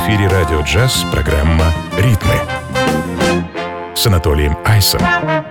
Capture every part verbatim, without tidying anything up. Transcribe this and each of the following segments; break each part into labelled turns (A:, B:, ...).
A: эфире радио «Джаз» программа «Ритмы» с Анатолием Айсом.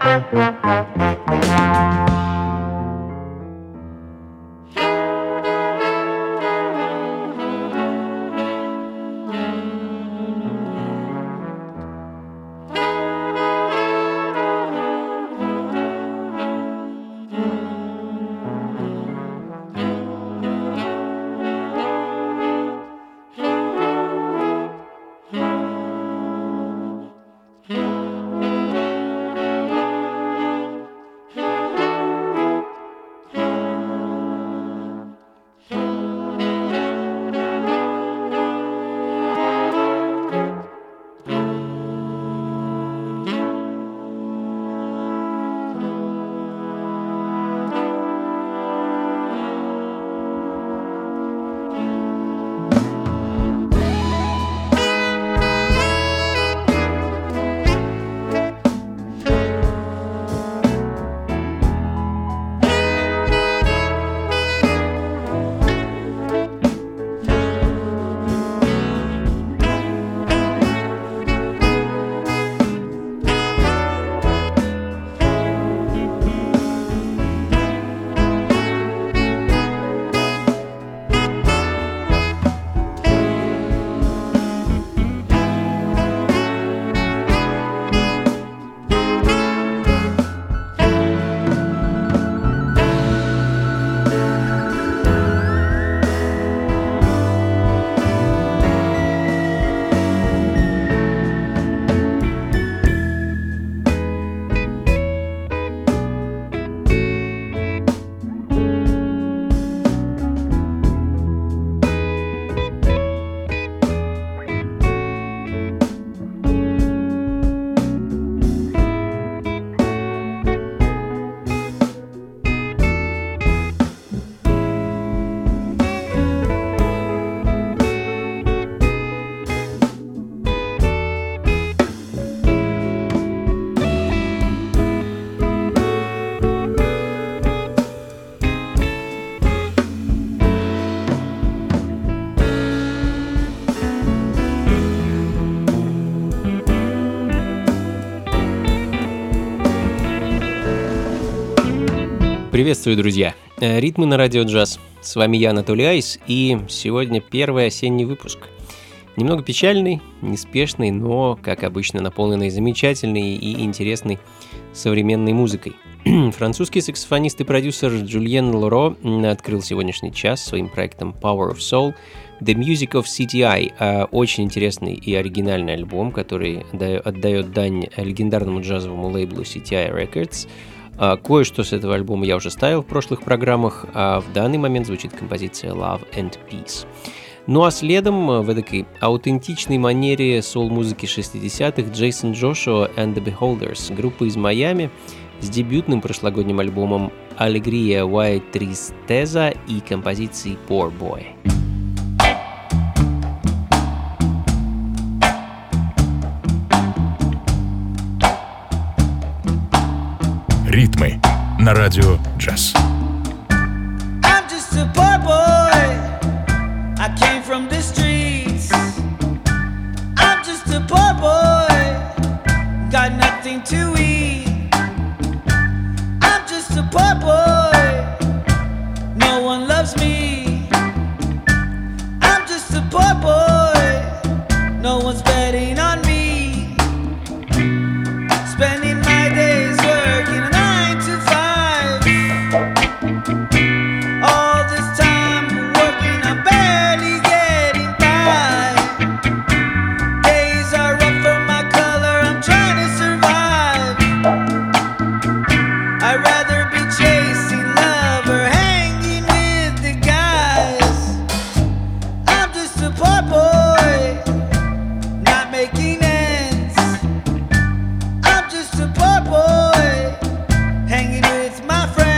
B: Приветствую, друзья! Ритмы на радио «Джаз». С вами я, Анатолий Айс, и сегодня первый осенний выпуск. Немного печальный, неспешный, но, как обычно, наполненный замечательной и интересной современной музыкой. Французский саксофонист и продюсер Жюльен Лоро открыл сегодняшний час своим проектом Power of Soul The Music of си ти ай. Очень интересный и оригинальный альбом, который отдает дань легендарному джазовому лейблу си ти ай Records. Кое-что с этого альбома я уже ставил в прошлых программах, а в данный момент звучит композиция Love and Peace. Ну а следом в этой аутентичной манере соул-музыки шестидесятых Джейсон Джошуа and the Beholders, группа из Майами с дебютным прошлогодним альбомом Alegría y Tristeza и композицией Poor Boy.
A: Ритмы на радио «Джаз».
C: I'm just a poor boy. I came from the streets. I'm just a poor boy. Got nothing to eat. I'm just a poor boy. No one loves me. I'm just a poor boy. No one's betting on me. Spending my days working on all this time working, I'm barely getting by. Days are rough for my color, I'm trying to survive. I'd rather be chasing love or hanging with the guys. I'm just a poor boy, not making ends. I'm just a poor boy, hanging with my friends.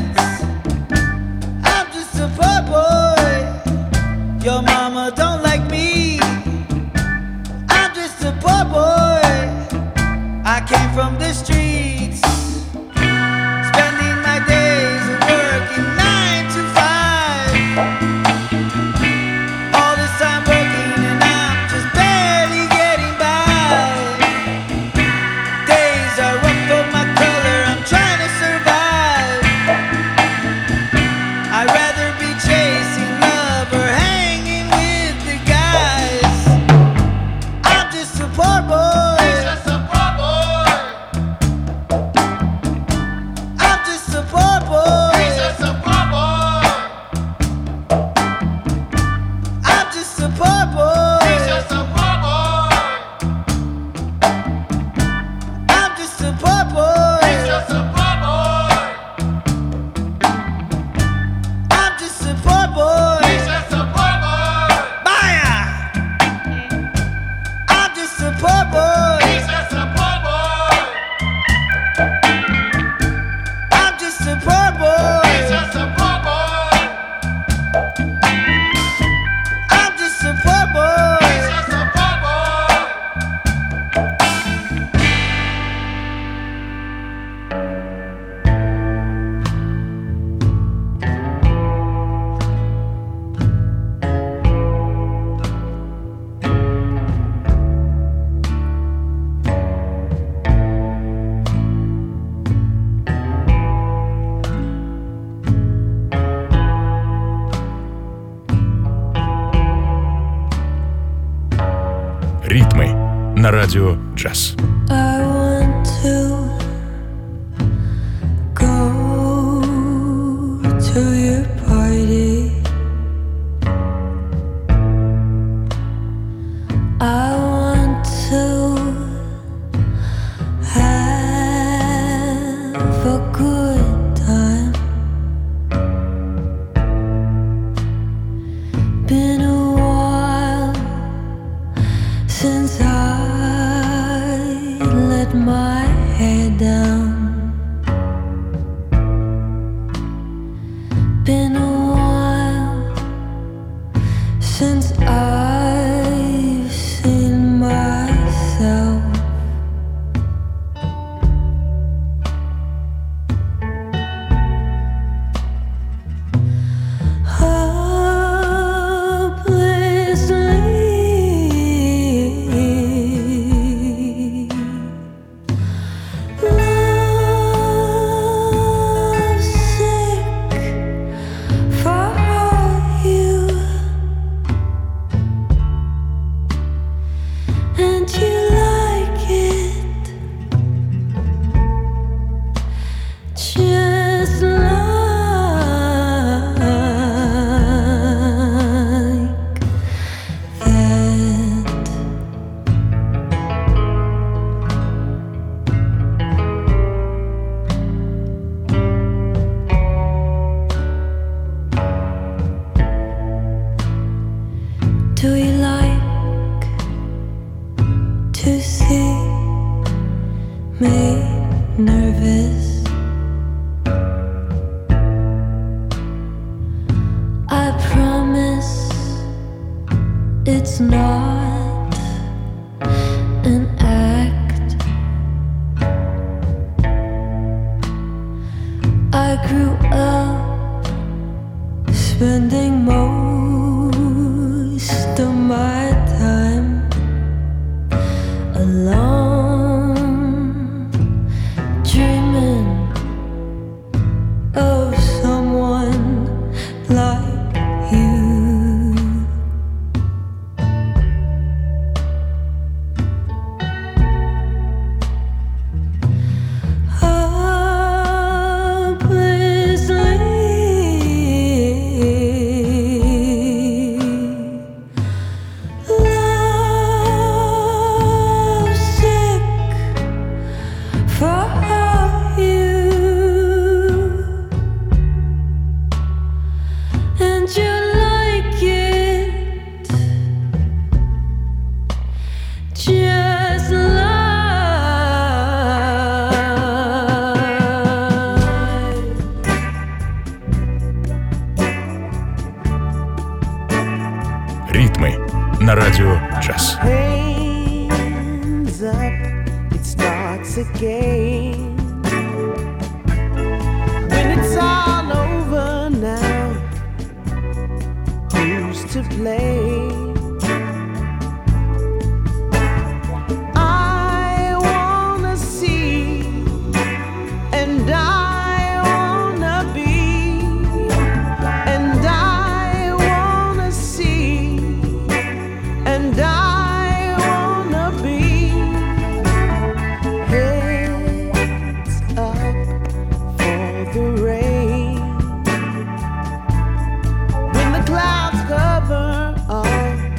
C: Your mama don't like me. I'm just a poor boy. I came from the streets, spending my days working nine to five. All this time working and I'm just
A: на радио джаз.
D: I want to go to your party. I want to have a good time. Been a while since I let my hair down. Been a while since I've seen myself. Hopelessly lovesick for you, and you like it just like that. Do you like to see me nervous? I promise it's not an act. I grew up spending most of my time alone, dreaming of someone like you. Hopelessly lovesick for you, and you like it just like
A: Ритмы на радио джаз.
E: Hands up, it starts again. When it's all over now, who's to blame? I wanna see, and I wanna be, and I wanna see, and I wanna be. Heads up for the rain. When the clouds cover all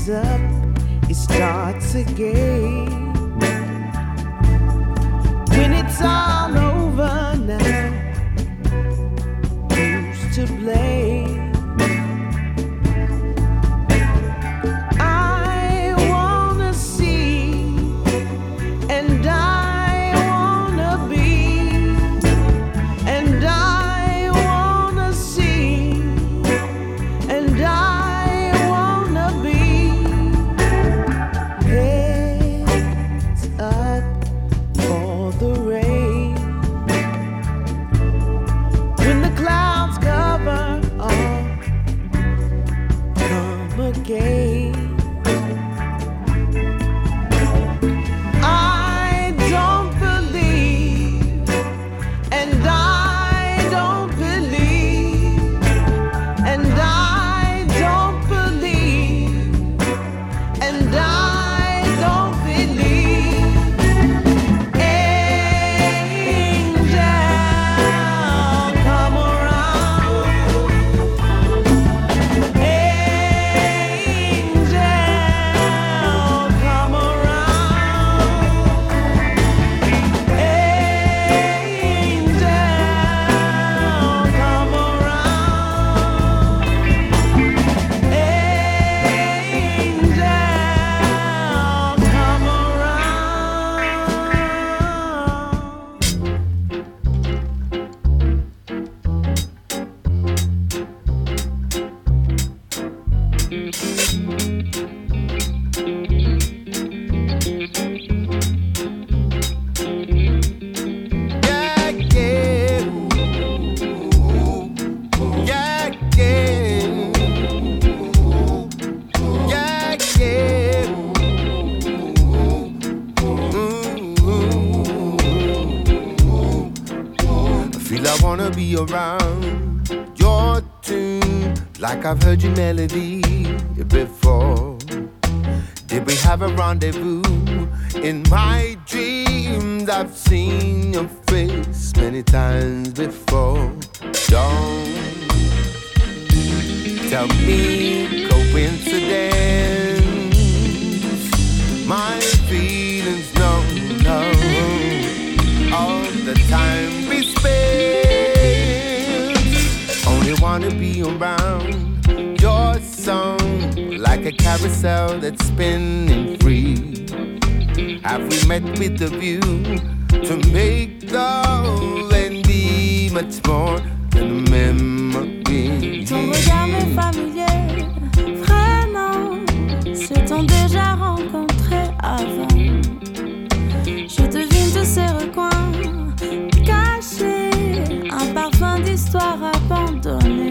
E: hands up, it starts again. When it's all over now, who's to blame?
F: Around your tune, like I've heard your melody before. Did we have a rendezvous? In my dreams I've seen your face many times before. Don't tell me coincidence. My feelings, no, no. All the time we spend, wanna be around your song, like a carousel that's spinning free. Have we met with the view to make love and be much more than a memory?
D: Ton regard m'est familier, vraiment. S'est-on déjà rencontré avant? Je devine tous ces recoins cachés, un parfum d'histoire abandonnée.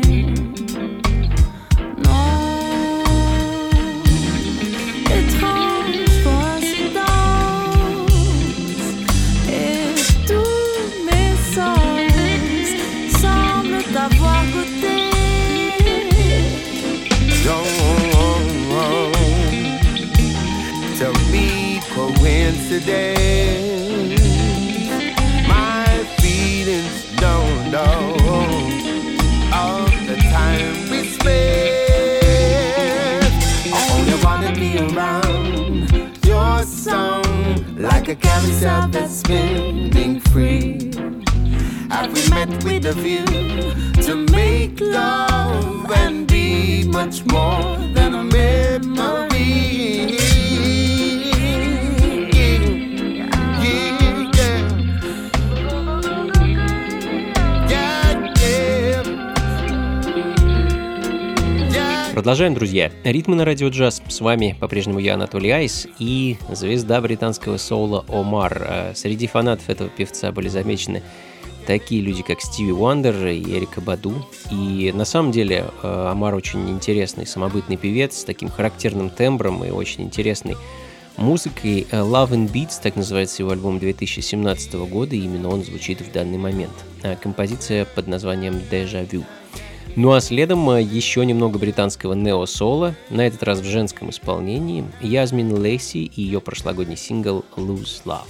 F: Today, my feelings don't know all the time we spend. I only wanna be around your song, like a carousel that's spinning free. Have we met with a view to make love and be much more than a memory?
B: Продолжаем, друзья. Ритмы на радио джаз. С вами по-прежнему я, Анатолий Айс, и звезда британского соула Омар. Среди фанатов этого певца были замечены такие люди, как Стиви Уандер и Эрика Баду. И на самом деле Омар очень интересный, самобытный певец с таким характерным тембром и очень интересной музыкой. Love and Beats, так называется его альбом две тысячи семнадцатого года, и именно он звучит в данный момент. Композиция под названием Deja Vu. Ну а следом еще немного британского нео-соло, на этот раз в женском исполнении, Язмин Лейси и ее прошлогодний сингл «Lose Love».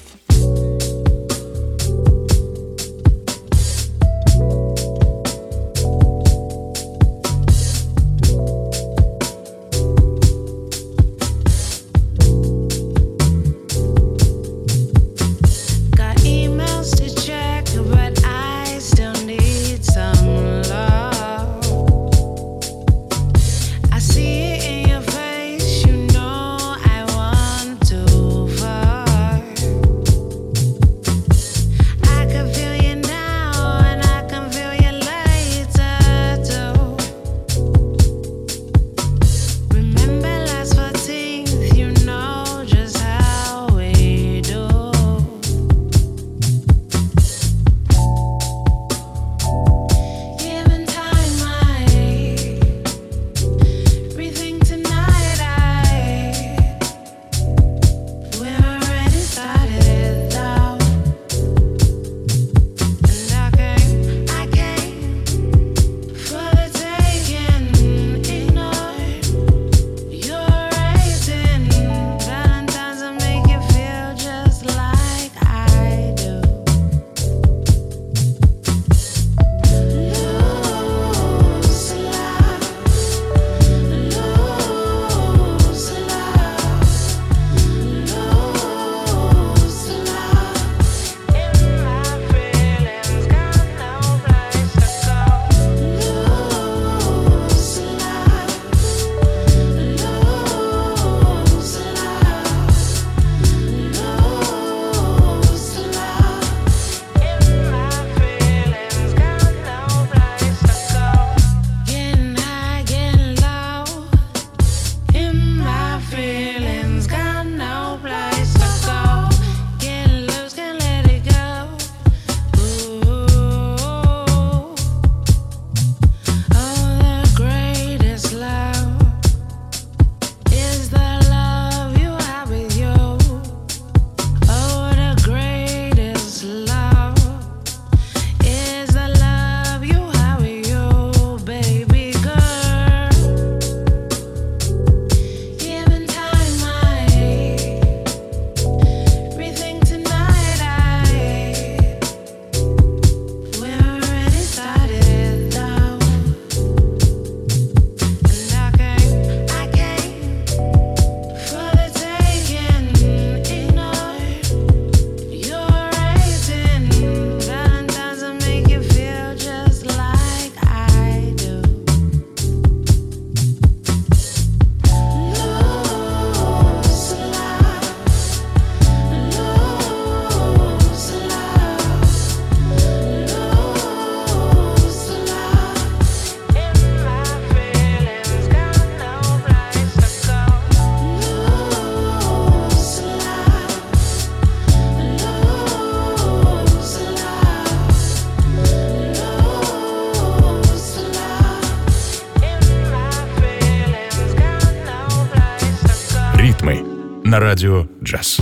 A: Ритмы на радио «Джаз».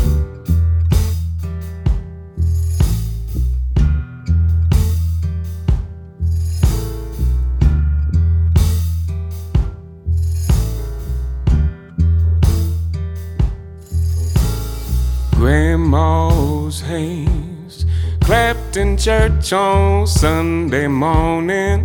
F: Grandma's hands clapped in church on Sunday morning.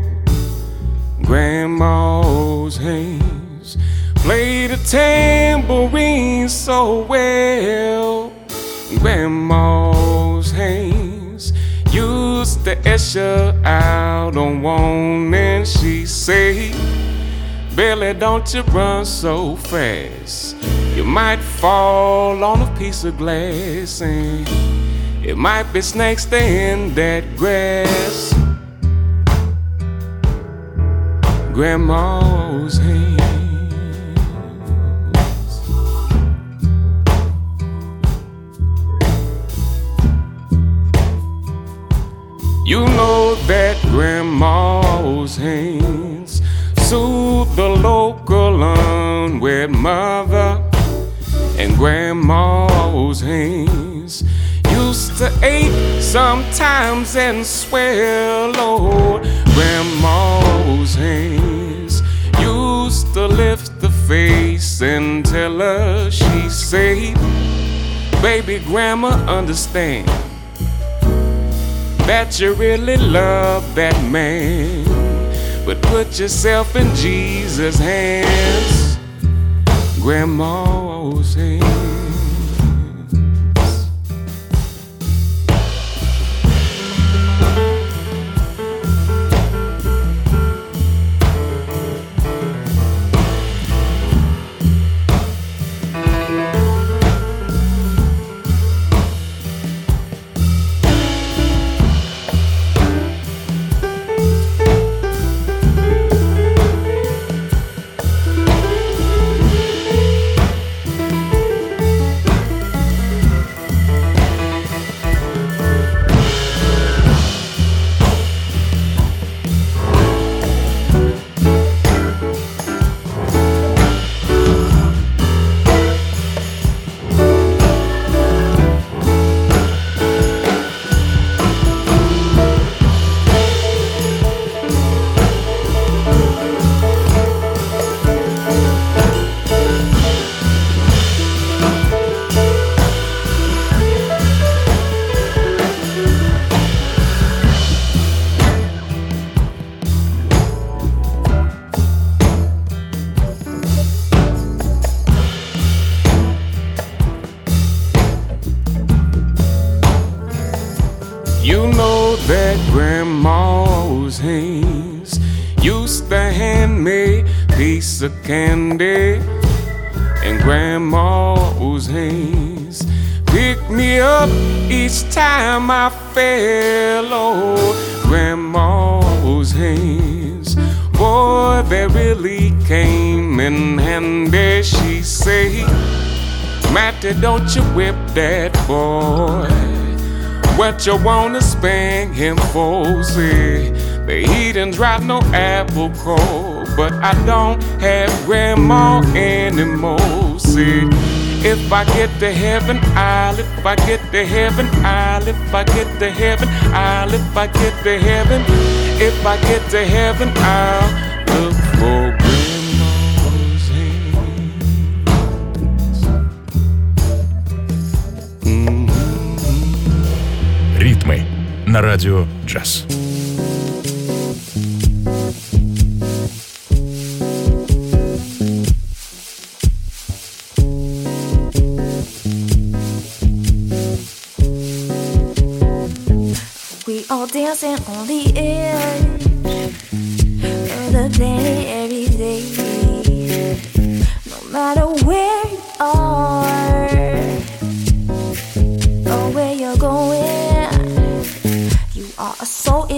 F: Grandma's hands played a tambourine so well. Grandma's hands used to usher out on one, and she said, Billy, don't you run so fast. You might fall on a piece of glass, and it might be snakes there in that grass. Grandma's hands. You know that Grandma's hands soothe the local unwed mother. And Grandma's hands used to ache sometimes and swell. Oh, Grandma's hands used to lift the face and tell her, she said, baby, Grandma, understand that you really love that man, but put yourself in Jesus' hands. Grandma's hands. You know that Grandma's hands used to hand me a piece of candy, and Grandma's hands picked me up each time I fell. Oh, Grandma's hands, boy, they really came in handy. She said, Matty, don't you whip that boy. What you wanna spank him for? Say, he done dropped no apple core, but I don't have Grandma anymore. Say, if I get to heaven, I'll, if I get to heaven, I'll, if I get to heaven, I'll, if I get to heaven, if I get to heaven, I'll look for Grandma's hands. Mm-hmm.
A: Ритмы на радио «Джаз».
D: We all dancing on the edge of the planet every day. No matter where you are or where you're going, you are so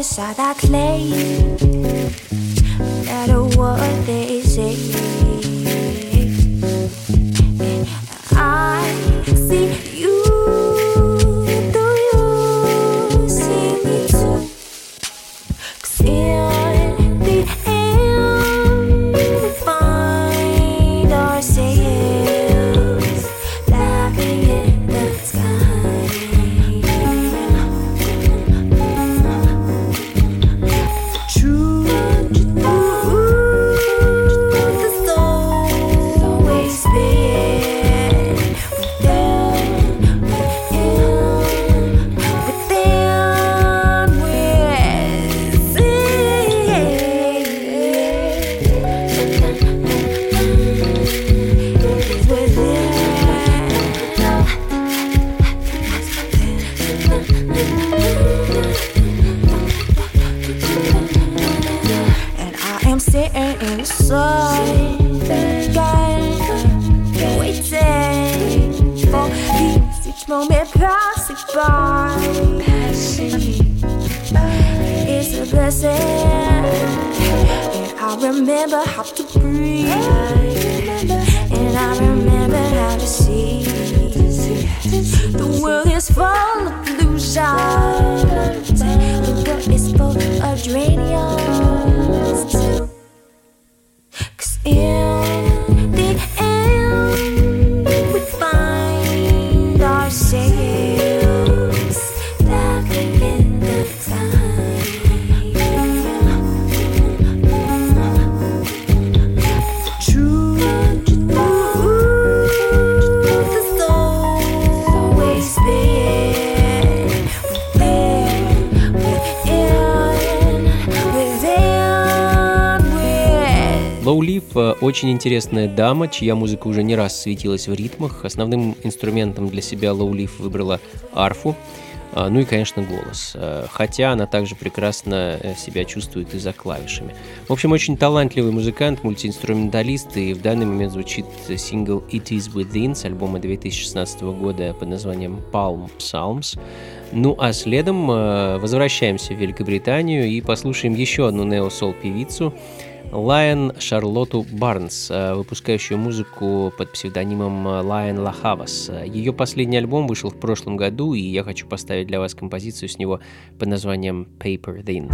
D: blessing. And I remember how to breathe, and I remember how to see. The world is full of illusion, the world is full of geraniums too. 'Cause in the end we find ourselves back in the time. Truth is always there, within, within, within.
B: Low Leaf э, очень интересная дама, чья музыка уже не раз светилась в ритмах. Основным инструментом для себя Low Leaf выбрала арфу, э, ну и, конечно, голос. Э, хотя она также прекрасно э, себя чувствует и за клавишами. В общем, очень талантливый музыкант, мультиинструменталист, и в данный момент звучит сингл It Is Within с альбома две тысячи шестнадцатого года под названием Palm Psalms. Ну а следом э, возвращаемся в Великобританию и послушаем еще одну нео-сол-певицу, Лайон Шарлотту Барнс, выпускающую музыку под псевдонимом Лайон Лахавас. Ее последний альбом вышел в прошлом году, и я хочу поставить для вас композицию с него под названием Paper Thin.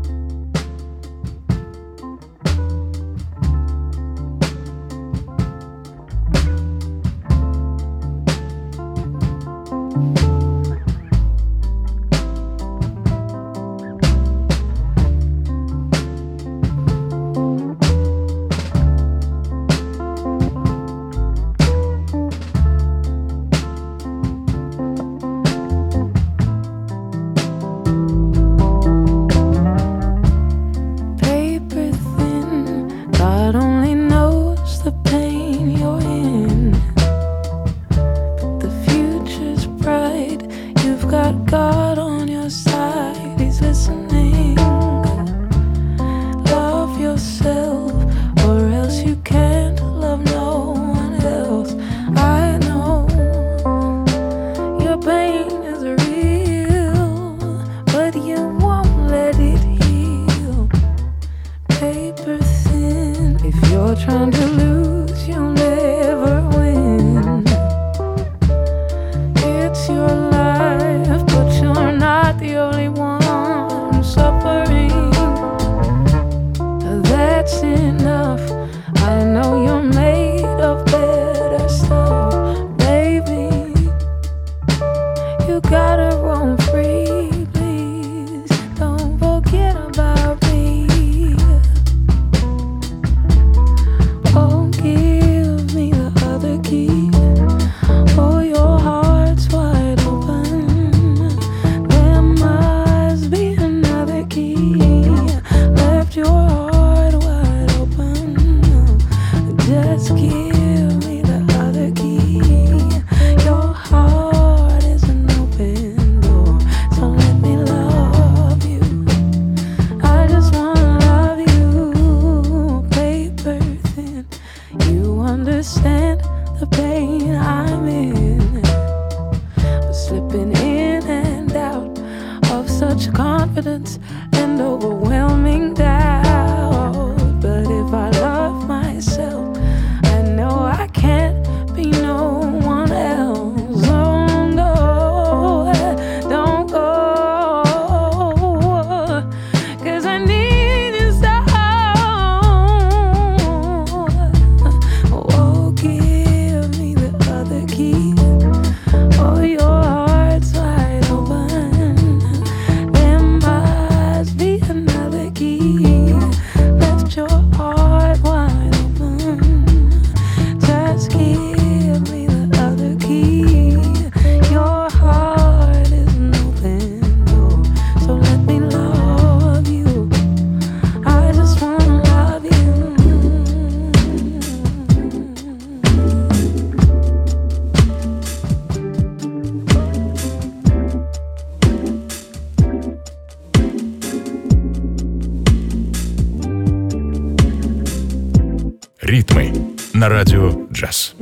A: Ритмы на радио «Джаз».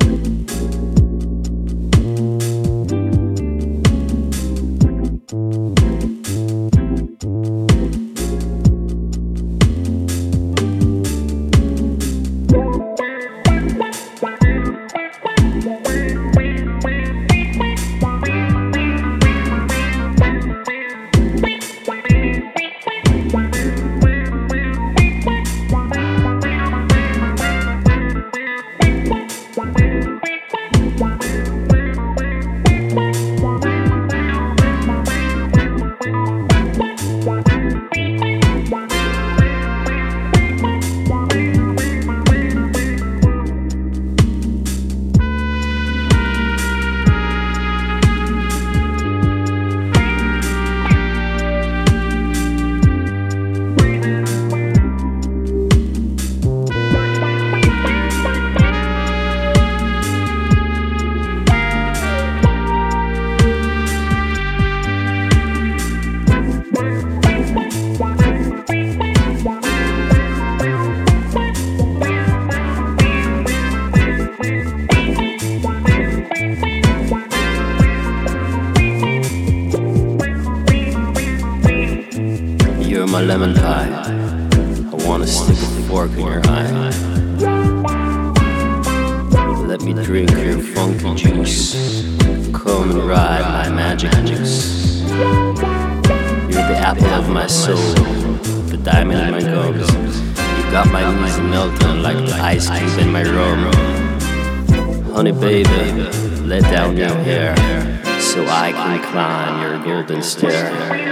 G: Let me drink your funky juice. Come and ride my magic juice. You're the apple of my soul, the diamond in my gums. You got my knees melting like the ice cube in my rum. Honey baby, let down your hair so I can climb your golden stair.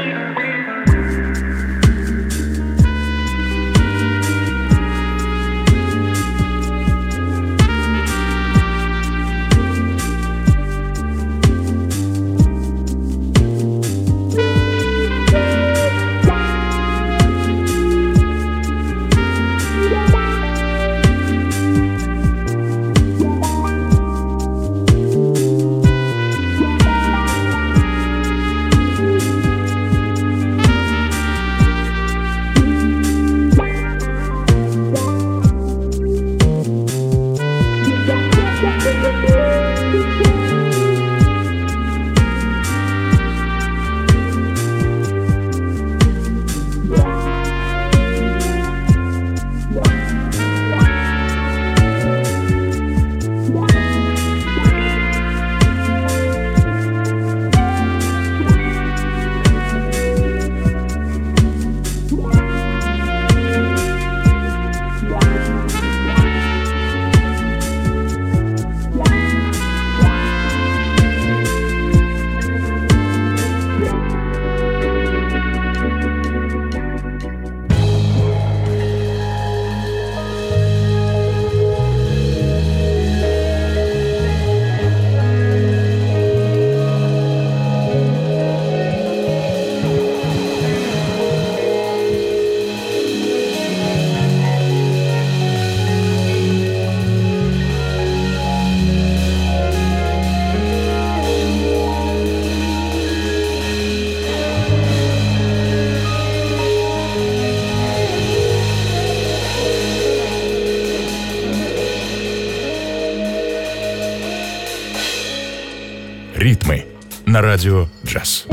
A: Ритмы на радио «Джаз».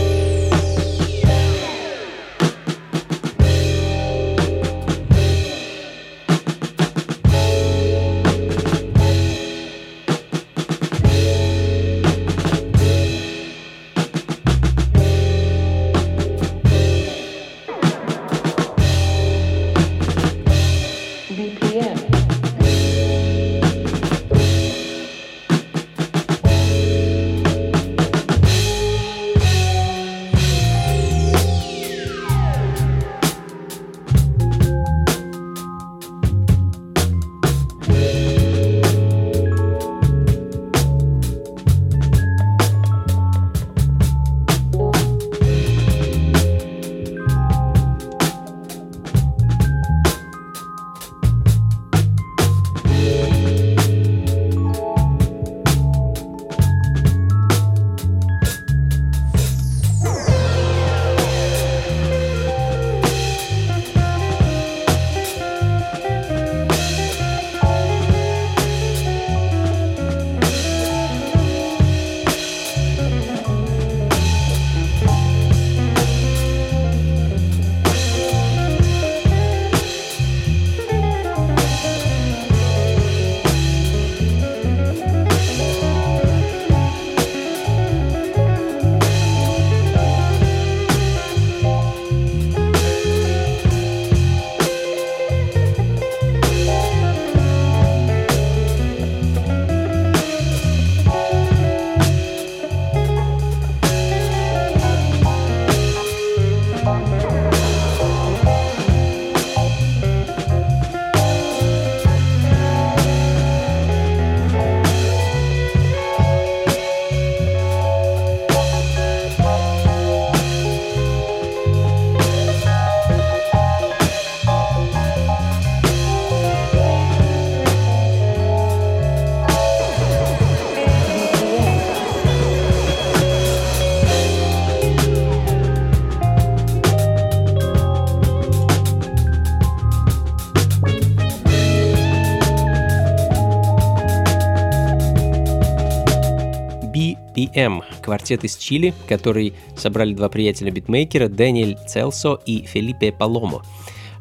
B: би эм – квартет из Чили, который собрали два приятеля-битмейкера Дэниэль Целсо и Фелипе Паломо.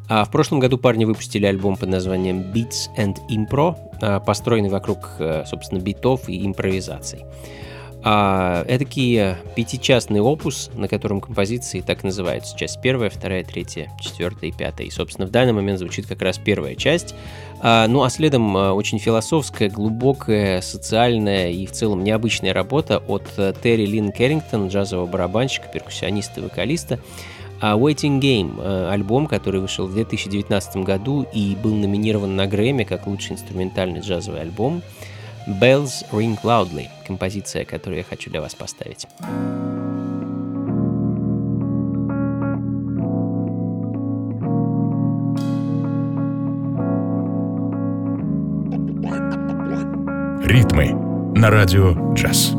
B: А в прошлом году парни выпустили альбом под названием Beats and Impro, построенный вокруг, собственно, битов и импровизаций. Эдакий пятичастный опус, на котором композиции так и называются. Часть первая, вторая, третья, четвертая и пятая. И, собственно, в данный момент звучит как раз первая часть. Ну а следом очень философская, глубокая, социальная и в целом необычная работа от Терри Лин Керрингтон, джазового барабанщика, перкуссиониста и вокалиста. Waiting Game, альбом, который вышел в две тысячи девятнадцатом году и был номинирован на Грэмми как лучший инструментальный джазовый альбом. Bells Ring Loudly, композиция, которую я хочу для вас поставить.
A: Ритмы на радио джаз.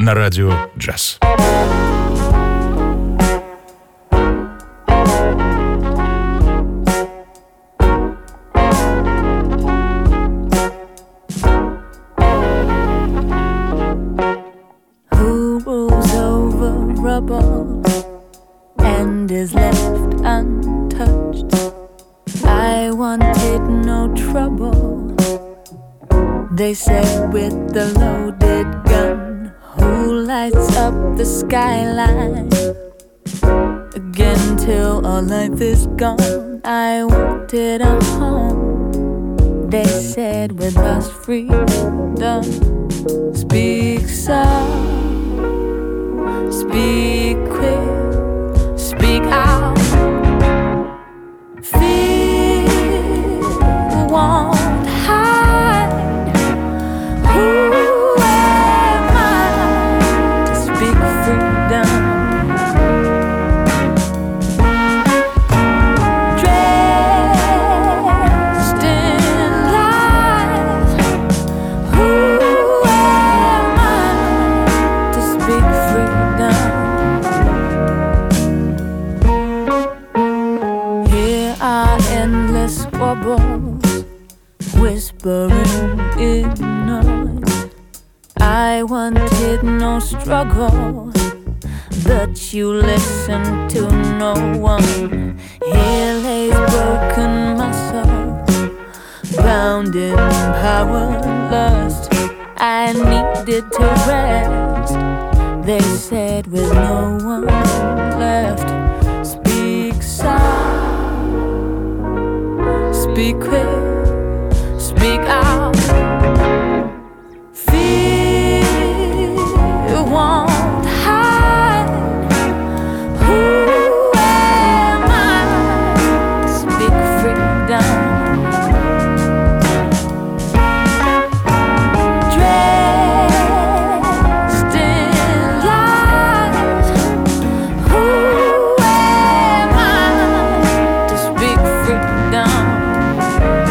A: на радио «Джаз».
D: Who rules over rubble and is left untouched? I wanted no trouble, they said, with the loaded gun. Who lights up the skyline again till all life is gone? I wanted a home, they said, with us freedom. Speak soft, speak quick, speak out. Fear won't hide. Who am I to speak freedom? Dressed in lies. Who am I to speak freedom? Here are endless wobbles, whispering in noise. I wanted no struggle, but you listen to no one. Here lays broken muscle, bound in power lust. I needed to rest, they said, with no one left. Speak soft, speak quick, speak out. Fear won't hide. Who am I to speak freedom? Dressed in lies. Who am I to speak freedom?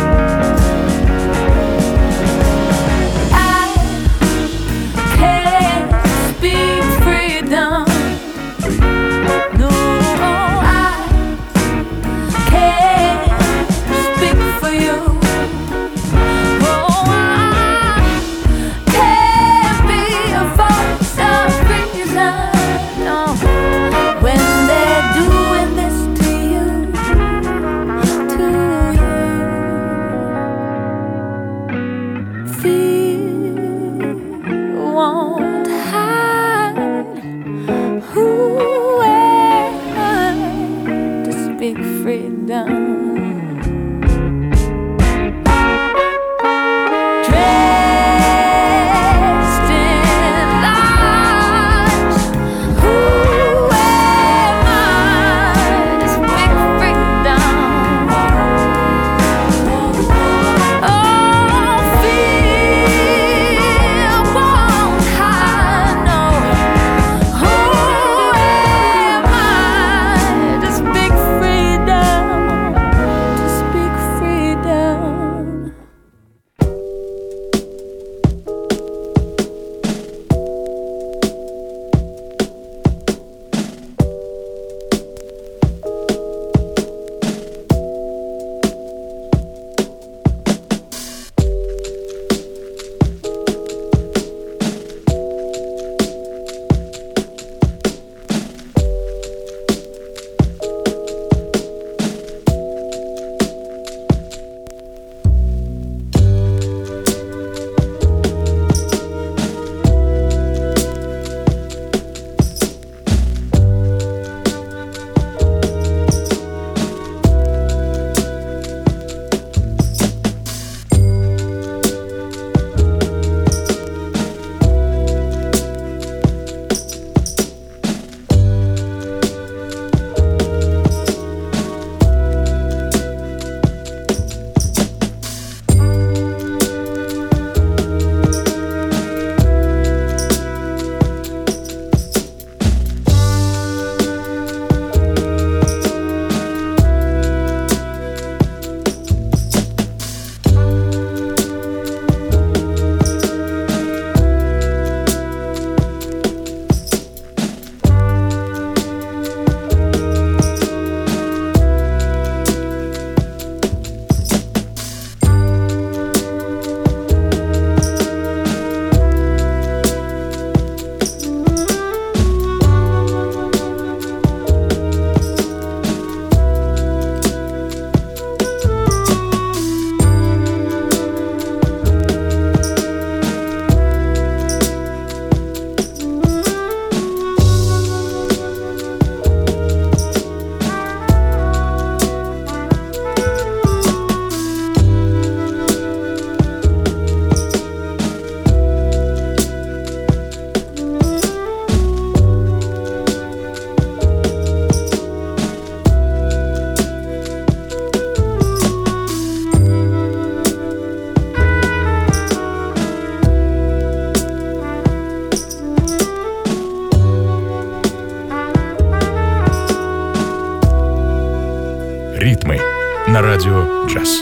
A: «Ритмы» на радио «Джаз».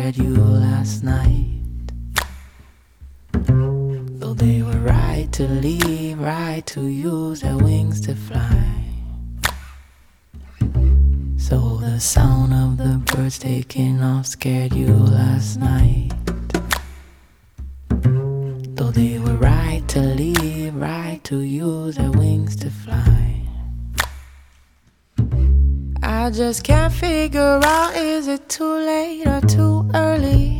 H: scared you last night. Though they were right to leave, right to use their wings to fly. So the sound of the birds taking off scared you last night. Though they were right to leave, right to use their wings to fly. I just can't figure out, is it too late or too early?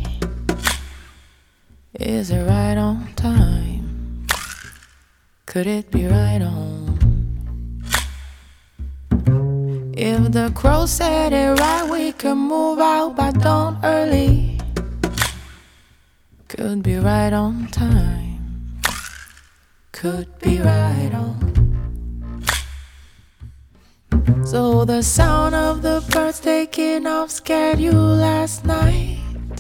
H: Is it right on time? Could it be right on? If the crow said it right, we could move out by dawn early. Could be right on time. Could be right on. So the sound of the birds taking off scared you last night.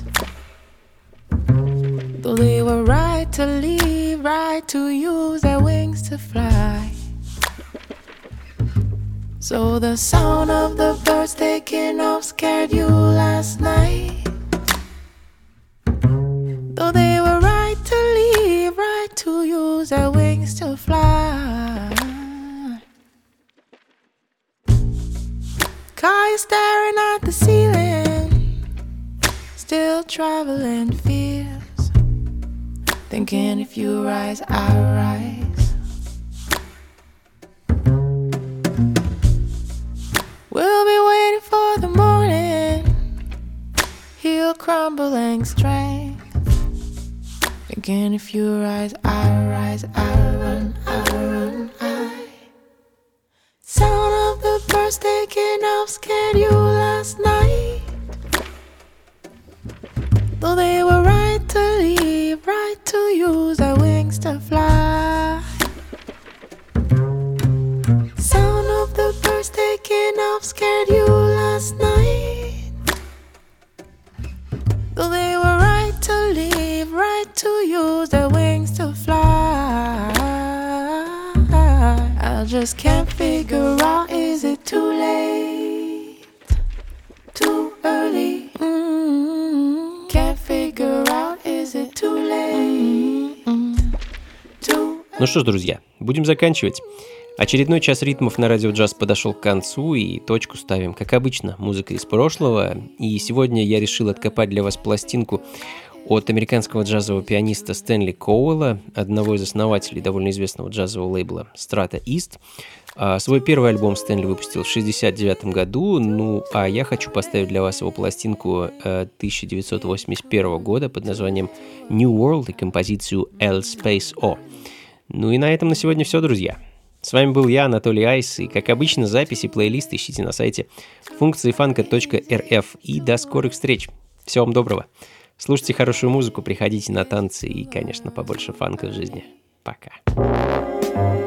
H: Though they were right to leave, right to use their wings to fly. So the sound of the birds taking off scared you last night. Though they were right to leave, right to use their wings to fly. Car you staring at the ceiling, still traveling fears, thinking if you rise, I rise. We'll be waiting for the morning, heal crumbling strength, thinking if you rise, I rise, I run, I run, I. Sound of the birds taking off scared you last night. Though they were right to leave, right to use their wings to fly. Sound of the birds taking off scared you last night. Though they were right to leave, right to use their wings to fly. I just can't figure out, is it too late, too early? Mm-hmm. Can't figure out, is it too late, mm-hmm. too early?
B: Ну что ж, друзья, будем заканчивать. Очередной час ритмов на радио джаз подошел к концу, и точку ставим, как обычно, музыка из прошлого. И сегодня я решил откопать для вас пластинку от американского джазового пианиста Стэнли Коуэлла, одного из основателей довольно известного джазового лейбла Strata East. Свой первый альбом Стэнли выпустил в шестьдесят девятом году, ну а я хочу поставить для вас его пластинку тысяча девятьсот восемьдесят первого года под названием New World и композицию L Space O. Ну и на этом на сегодня все, друзья. С вами был я, Анатолий Айс, и, как обычно, записи, плейлисты ищите на сайте функции фанка точка эр эф. И до скорых встреч. Всего вам доброго. Слушайте хорошую музыку, приходите на танцы и, конечно, побольше фанка в жизни. Пока.